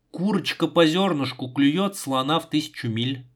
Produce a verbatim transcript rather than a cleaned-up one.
Курочка по зернышку клюет слона в тысячу миль.